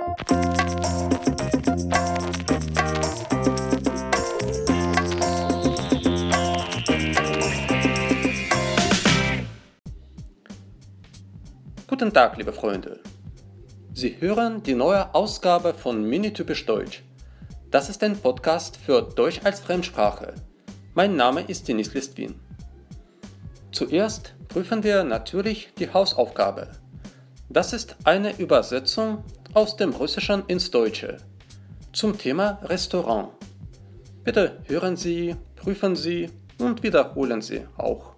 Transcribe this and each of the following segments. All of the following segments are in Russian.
Guten Tag, liebe Freunde. Sie hören die neue Ausgabe von Minitypisch Deutsch. Das ist ein Podcast für Deutsch als Fremdsprache. Mein Name ist Denis Listwin. Zuerst prüfen wir natürlich die Hausaufgabe. Das ist eine Übersetzung aus dem Russischen ins Deutsche zum Thema Restaurant. Bitte hören Sie, prüfen Sie und wiederholen Sie auch.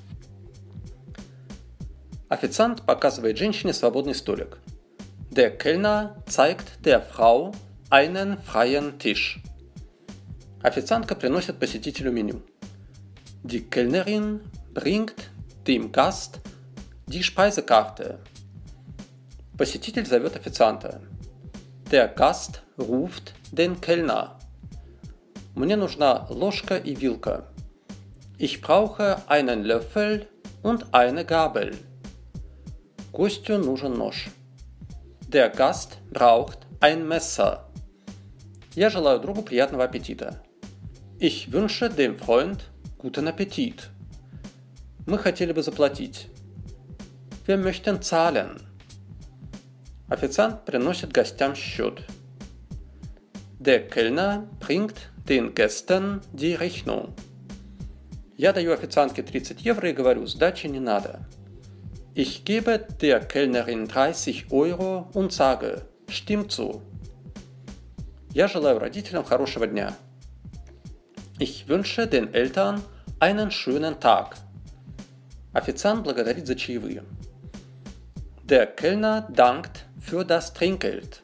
Официант показывает женщине свободный столик. Der Kellner zeigt der Frau einen freien Tisch. Официантка приносит посетителю меню. Die Kellnerin bringt dem Gast die Speisekarte. Посетитель зовет официанта. Der Gast ruft den Kellner. Мне нужна ложка и вилка. Ich brauche einen Löffel und eine Gabel. Гостю нужен нож. Der Gast braucht ein Messer. Я желаю другу приятного аппетита. Ich wünsche dem Freund guten Appetit. Мы хотели бы заплатить. Wir möchten zahlen. Официант приносит гостям счет. Der Kellner bringt den Gästen die Rechnung. Я даю официантке 30 евро и говорю, сдачи не надо. Ich gebe der Kellnerin 30 Euro und sage, stimmt so. Я желаю родителям хорошего дня. Ich wünsche den Eltern einen schönen Tag. Официант благодарит за чаевые. Der Kellner dankt für das Trinkgeld.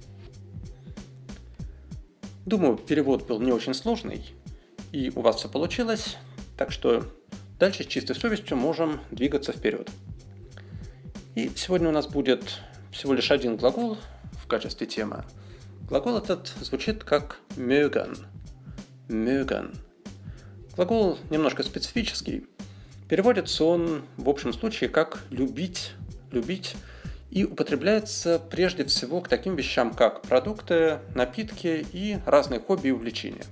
Думаю, перевод был не очень сложный, и у вас все получилось, так что дальше с чистой совестью можем двигаться вперед. И сегодня у нас будет всего лишь один глагол в качестве темы. Глагол этот звучит как mögen. Mögen. Глагол немножко специфический. Переводится он в общем случае как любить, любить, и употребляется прежде всего к таким вещам, как продукты, напитки и разные хобби и увлечения.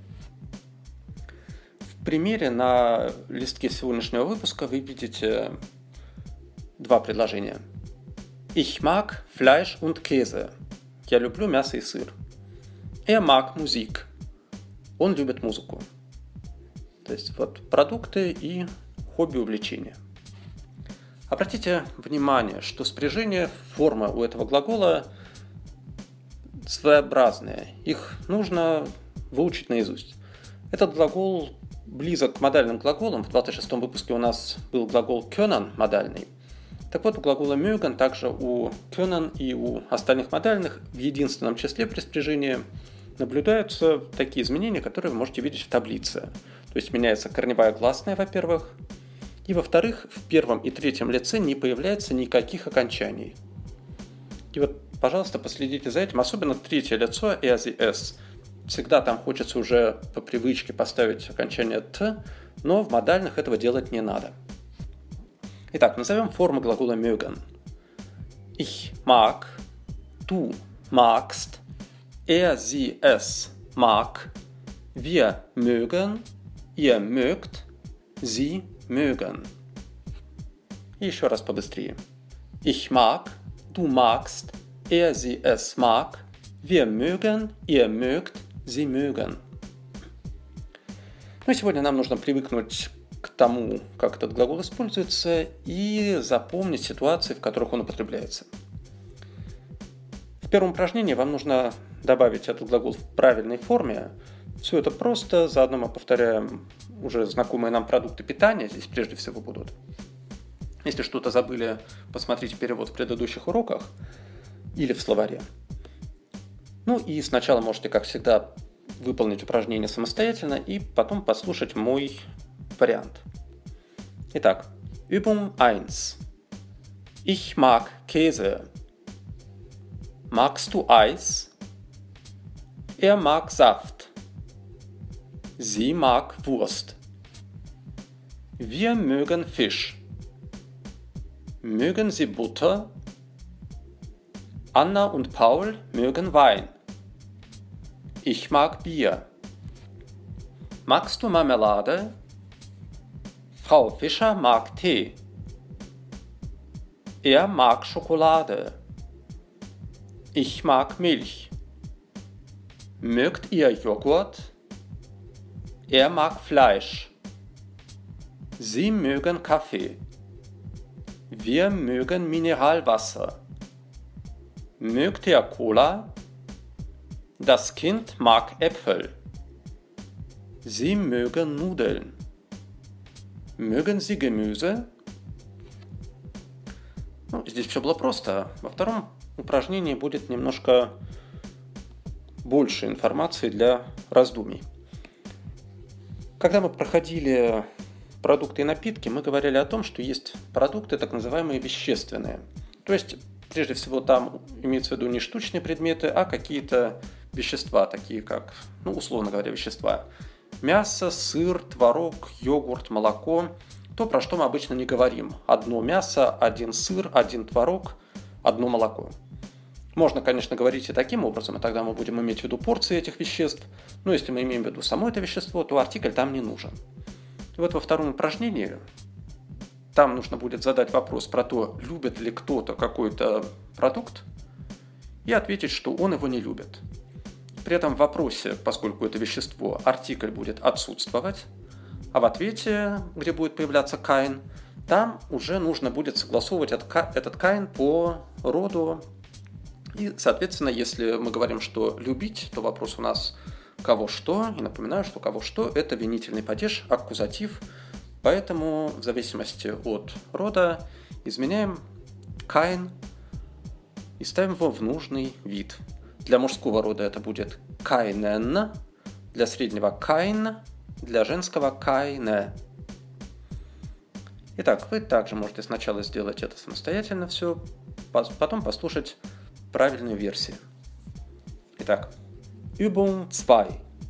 В примере на листке сегодняшнего выпуска вы видите два предложения. Ich mag Fleisch und Käse. Я люблю мясо и сыр. Er mag Musik. Он любит музыку. То есть вот продукты и хобби, увлечения. Обратите внимание, что спряжение формы у этого глагола своеобразные. Их нужно выучить наизусть. Этот глагол близок к модальным глаголам. В 26-м выпуске у нас был глагол können, модальный. Так вот, у глагола mögen, также у können и у остальных модальных в единственном числе при спряжении наблюдаются такие изменения, которые вы можете видеть в таблице. То есть меняется корневая гласная, во-первых, и, во-вторых, в первом и третьем лице не появляется никаких окончаний. И вот, пожалуйста, последите за этим, особенно третье лицо s. Всегда там хочется уже по привычке поставить окончание «т», но в модальных этого делать не надо. Итак, назовем формы глагола mögen. Ich mag, du magst, sie, es mag, wir mögen, ihr mögt, sie mögen. И еще раз побыстрее. Ich mag, du magst, sie, es mag, wir mögen, ihr mögt, sie mögen. Ну и сегодня нам нужно привыкнуть к тому, как этот глагол используется, и запомнить ситуации, в которых он употребляется. В первом упражнении вам нужно добавить этот глагол в правильной форме. Все это просто, заодно мы повторяем уже знакомые нам продукты питания, здесь прежде всего будут. Если что-то забыли, посмотрите перевод в предыдущих уроках или в словаре. Ну и сначала можете, как всегда, выполнить упражнение самостоятельно и потом послушать мой вариант. Итак, Übung 1. Ich mag Käse. Magst du Eis? Er mag Saft. Sie mag Wurst. Wir mögen Fisch. Mögen Sie Butter? Anna und Paul mögen Wein. Ich mag Bier. Magst du Marmelade? Frau Fischer mag Tee. Er mag Schokolade. Ich mag Milch. Mögt ihr Joghurt? Er mag Fleisch. Sie mögen Kaffee. Wir mögen Mineralwasser. Mögt ihr Cola? Das Kind mag Äpfel. Sie mögen Nudeln. Mögen Sie Gemüse? Здесь все было просто. Во втором упражнении будет немножко больше информации для раздумий. Когда мы проходили продукты и напитки, мы говорили о том, что есть продукты, так называемые вещественные. То есть, прежде всего, там имеется в виду не штучные предметы, а какие-то вещества, такие как, условно говоря, вещества. Мясо, сыр, творог, йогурт, молоко. То, про что мы обычно не говорим. Одно мясо, один сыр, один творог, одно молоко. Можно, конечно, говорить и таким образом, и тогда мы будем иметь в виду порции этих веществ. Но если мы имеем в виду само это вещество, то артикль там не нужен. И вот во втором упражнении там нужно будет задать вопрос про то, любит ли кто-то какой-то продукт, и ответить, что он его не любит. При этом в вопросе, поскольку это вещество, артикль будет отсутствовать, а в ответе, где будет появляться kein, там уже нужно будет согласовывать этот kein по роду. И, соответственно, если мы говорим, что любить, то вопрос у нас кого что. И напоминаю, что кого что – это винительный падеж, аккузатив. Поэтому в зависимости от рода изменяем kein и ставим его в нужный вид. Для мужского рода это будет keinen, для среднего kein, для женского keine. Итак, вы также можете сначала сделать это самостоятельно все, потом послушать правильную версию. Итак, Übung 2.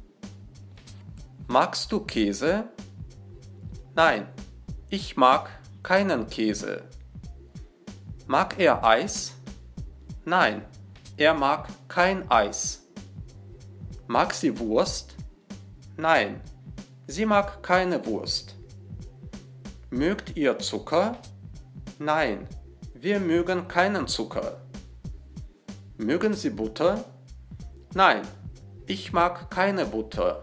Magst du Käse? Nein, ich mag keinen Käse. Mag er Eis? Nein, er mag kein Eis. Mag sie Wurst? Nein, sie mag keine Wurst. Mögt ihr Zucker? Nein, wir mögen keinen Zucker. Mögen Sie Butter? Nein, ich mag keine Butter.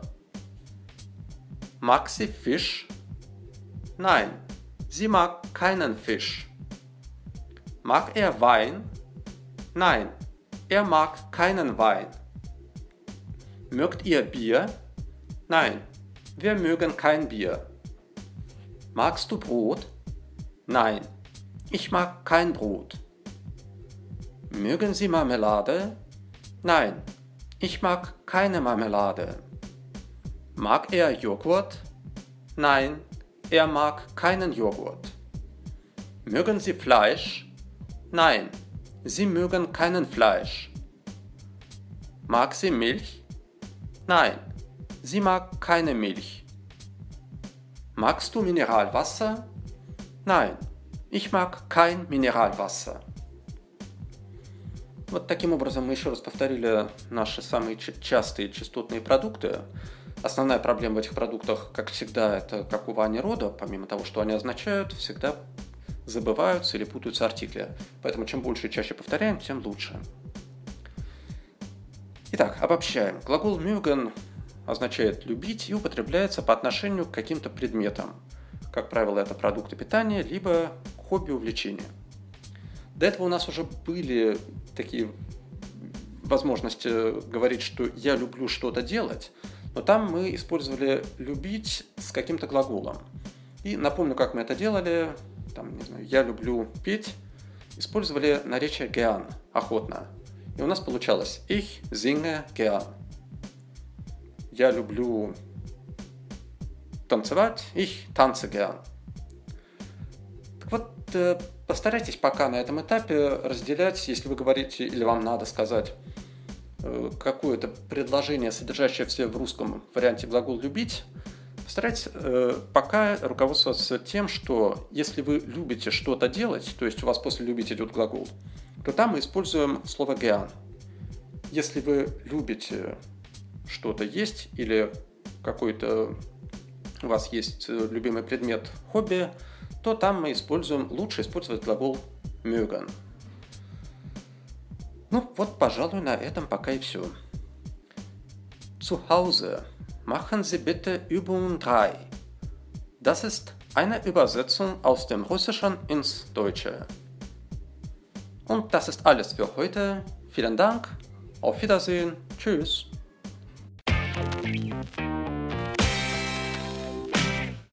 Mag sie Fisch? Nein, sie mag keinen Fisch. Mag er Wein? Nein, er mag keinen Wein. Mögt ihr Bier? Nein, wir mögen kein Bier. Magst du Brot? Nein, ich mag kein Brot. Mögen Sie Marmelade? Nein, ich mag keine Marmelade. Mag er Joghurt? Nein, er mag keinen Joghurt. Mögen Sie Fleisch? Nein, Sie mögen keinen Fleisch. Mag sie Milch? Nein, sie mag keine Milch. Magst du Mineralwasser? Nein, ich mag kein Mineralwasser. Вот таким образом мы еще раз повторили наши самые частые частотные продукты. Основная проблема в этих продуктах, как всегда, это как у Вани рода, помимо того, что они означают, всегда забываются или путаются артикли. Поэтому чем больше и чаще повторяем, тем лучше. Итак, обобщаем. Глагол mögen означает любить и употребляется по отношению к каким-то предметам. Как правило, это продукты питания, либо хобби, увлечения. До этого у нас уже были такие возможности говорить, что я люблю что-то делать, но там мы использовали любить с каким-то глаголом. И напомню, как мы это делали. Там, не знаю, я люблю петь. Использовали наречие gern, охотно. И у нас получалось ich singe gern. Я люблю танцевать, ich tanze gern. Так вот, постарайтесь пока на этом этапе разделять, если вы говорите или вам надо сказать какое-то предложение, содержащее в себе в русском варианте глагол «любить», Постарайтесь пока руководствоваться тем, что если вы любите что-то делать, то есть у вас после «любить» идет глагол, то там мы используем слово gern. Если вы любите что-то есть или какой-то у вас есть любимый предмет, хобби, то там мы лучше использовать глагол mögen. Ну вот, пожалуй, на этом пока и все. Zu Hause machen Sie bitte Übung 3. Das ist eine Übersetzung aus dem Russischen ins Deutsche. Und das ist alles für heute. Vielen Dank. Auf Wiedersehen. Tschüss.